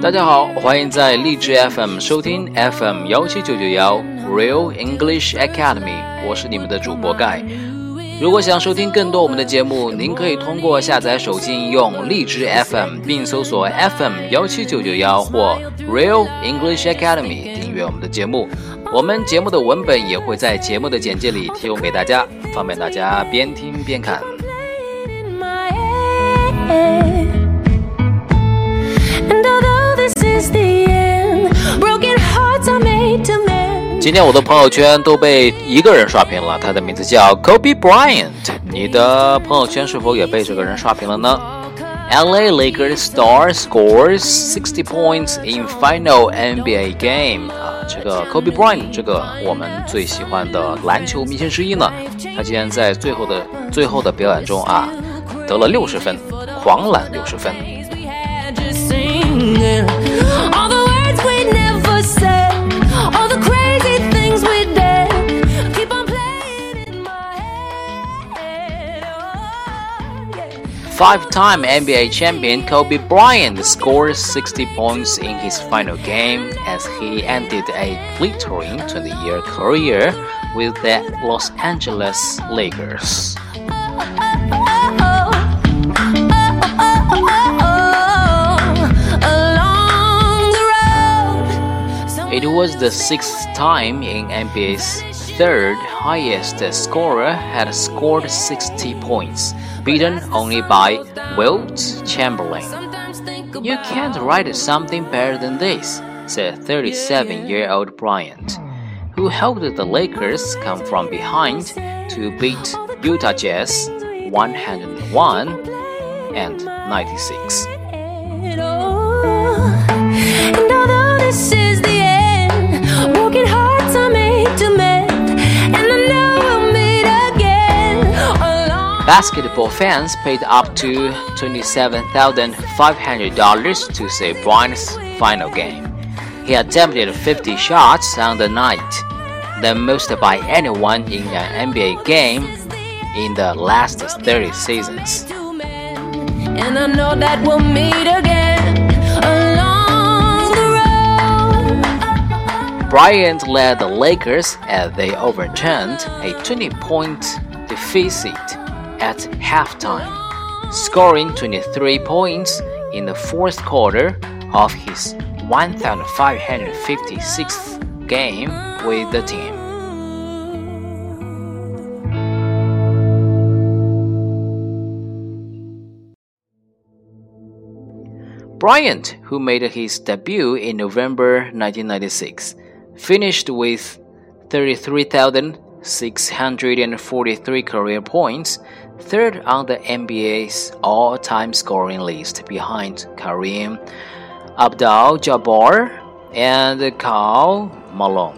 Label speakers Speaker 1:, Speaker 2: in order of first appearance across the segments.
Speaker 1: 大家好，欢迎在荔枝 FM 收听 FM17991 Real English Academy， 我是你们的主播盖。如果想收听更多我们的节目，您可以通过下载手机应用荔枝 FM 并搜索 FM17991 或 Real English Academy 订阅我们的节目。我们节目的文本也会在节目的简介里提供给大家，方便大家边听边看。今天我的朋友圈都被一个人刷屏了，他的名字叫 Kobe Bryant。你的朋友圈是否也被这个人刷屏了呢？ LA Lakers star scores 60 points in final NBA game。这个 Kobe Bryant 这个我们最喜欢的篮球明星之一呢，他竟然在最后的表演中得了60分，狂揽60分。Five-time NBA champion Kobe Bryant scored 60 points in his final game as he ended a glittering 20-year career with the Los Angeles Lakers. It was the sixth time in NBA's third highest scorer had scored 60 points, beaten only by Wilt Chamberlain. "You can't write something better than this," said 37-year-old Bryant, who helped the Lakers come from behind to beat Utah Jazz 101-96. Basketball fans paid up to $27,500 to see Bryant's final game. He attempted 50 shots on the night, the most by anyone in an NBA game in the last 30 seasons. And I know that we'll meet again along the road. Bryant led the Lakers as they overturned a 20-point deficit at halftime, scoring 23 points in the fourth quarter of his 1,556th game with the team. Bryant, who made his debut in November 1996, finished with 33,643 career points, third on the NBA's all-time scoring list behind Kareem Abdul-Jabbar and Karl Malone.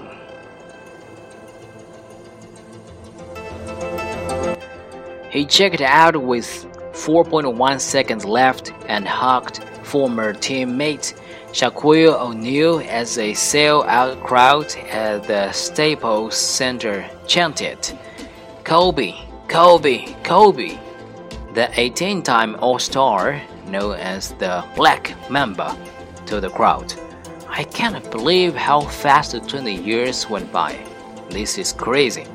Speaker 1: He checked out with 4.1 seconds left and hugged former teammate Shaquille O'Neal as a sell-out crowd at the Staples Center chanted, "Kobe, Kobe, Kobe." The 18-time All-Star, known as the Black Mamba, told the crowd, "I can't believe how fast 20 years went by. This is crazy."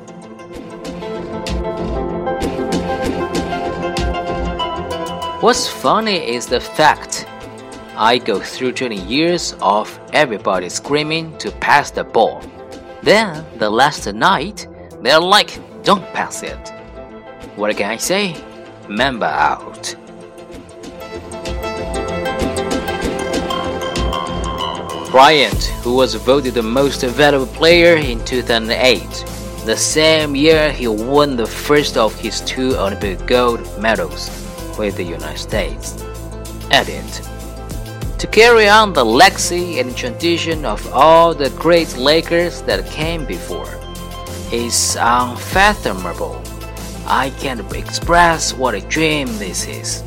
Speaker 1: What's funny is the fact I go through 20 years of everybody screaming to pass the ball. Then, the last night, they're like, "Don't pass it." What can I say? Mamba out. Bryant, who was voted the most valuable player in 2008, the same year he won the first of his 2 Olympic gold medals with the United States, added, "To carry on the legacy and tradition of all the great Lakers that came before is unfathomable. I can't express what a dream this is."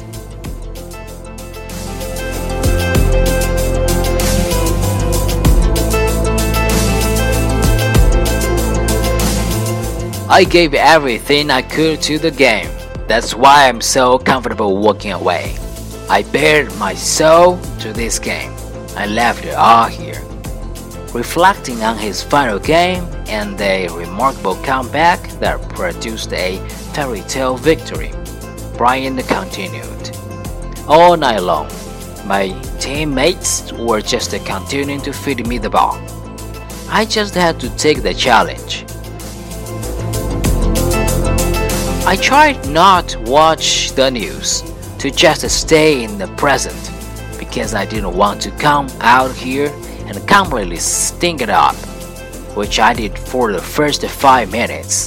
Speaker 1: I gave everything I could to the game. That's why I'm so comfortable walking away. I bared my soul to this game. I left it all here. Reflecting on his final game and a remarkable comeback that produced a fairy tale victory, Bryant continued. All night long, my teammates were just continuing to feed me the ball. I just had to take the challenge. I tried not to watch the news, to just stay in the present, because I didn't want to come out here and completely stink it up, which I did for the first 5 minutes.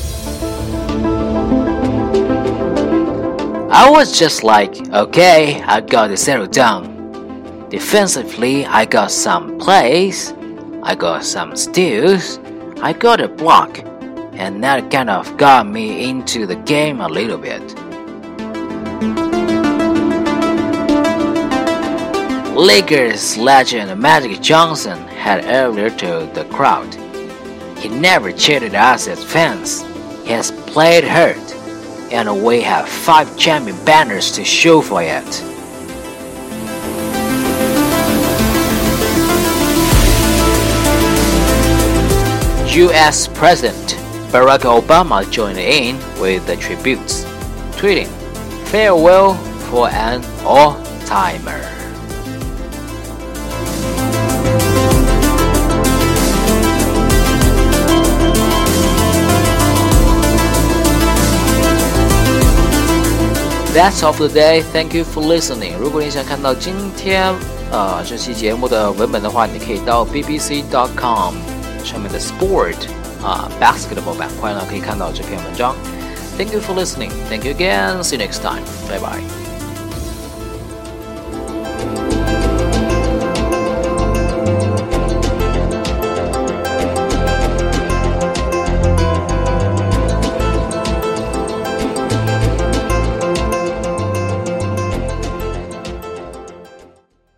Speaker 1: I was just like, okay, I got to settle down. Defensively, I got some plays, I got some steals, I got a block, and that kind of got me into the game a little bit. Lakers legend Magic Johnson had earlier told the crowd, he never cheated us as fans, he has played hurt, and we have 5 champion banners to show for it. US President Barack Obama joined in with the tributes, tweeting, "Farewell for an all-timer." That's all for today. Thank you for listening. 如果你想看到今天这期节目的文本的话，你可以到 bbc.com 上面的 Sport Basketball 板块呢，可以看到这篇文章。Thank you for listening. Thank you again. See you next time. Bye bye.